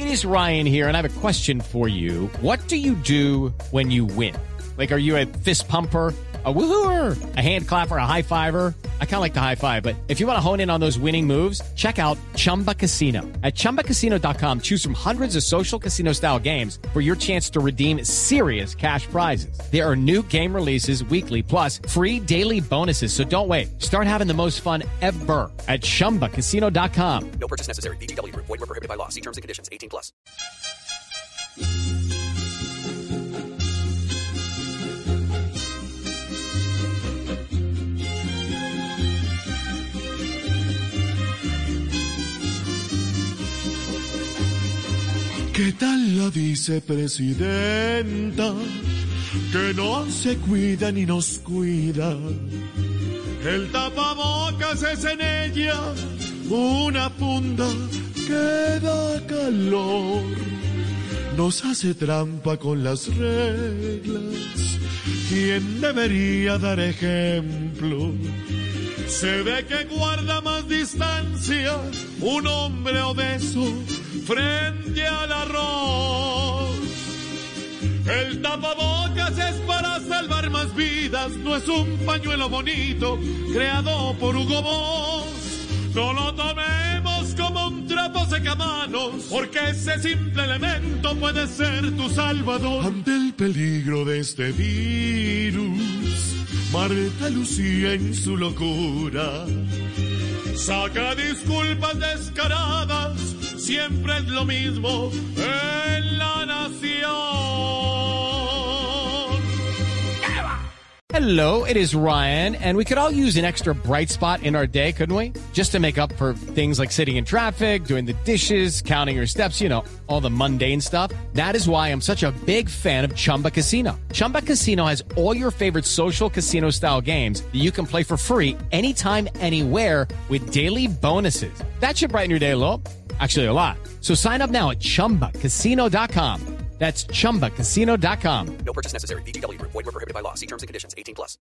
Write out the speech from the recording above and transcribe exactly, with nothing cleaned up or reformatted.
is Ryan here, and I have a question for you. What do you do when you win? Like, are you a fist pumper, a woohooer, a hand clapper, a high fiver? I kind of like the high five, but if you want to hone in on those winning moves, check out Chumba Casino. At chumba casino dot com, choose from hundreds of social casino style games for your chance to redeem serious cash prizes. There are new game releases weekly, plus free daily bonuses. So don't wait. Start having the most fun ever at chumba casino dot com. No purchase necessary. V G W Group. Void where prohibited by law. See terms and conditions. eighteen plus. ¿Qué tal la vicepresidenta? Que no se cuida ni nos cuida. El tapabocas es en ella una funda que da calor. Nos hace trampa con las reglas. ¿Quién debería dar ejemplo? Se ve que guarda más distancia un hombre obeso frente al arroz. El tapabocas es para salvar más vidas, no es un pañuelo bonito creado por Hugo Boss. No lo tomemos como un trapo secamanos, porque ese simple elemento puede ser tu salvador. Ante el peligro de este virus, Marta Lucía en su locura saca disculpas descaradas, siempre es lo mismo en la nación. Hello, it is Ryan, and we could all use an extra bright spot in our day, couldn't we? Just to make up for things like sitting in traffic, doing the dishes, counting your steps, you know, all the mundane stuff. That is why I'm such a big fan of Chumba Casino. Chumba Casino has all your favorite social casino-style games that you can play for free anytime, anywhere with daily bonuses. That should brighten your day a little. Actually, a lot. So sign up now at chumba casino dot com. That's chumba casino dot com. No purchase necessary. V G W Group. Void where prohibited by law. See terms and conditions. eighteen plus.